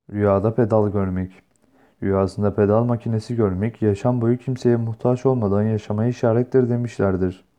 Rüyada pedal görmek. Rüyasında pedal makinesi görmek, yaşam boyu kimseye muhtaç olmadan yaşamaya işarettir demişlerdir.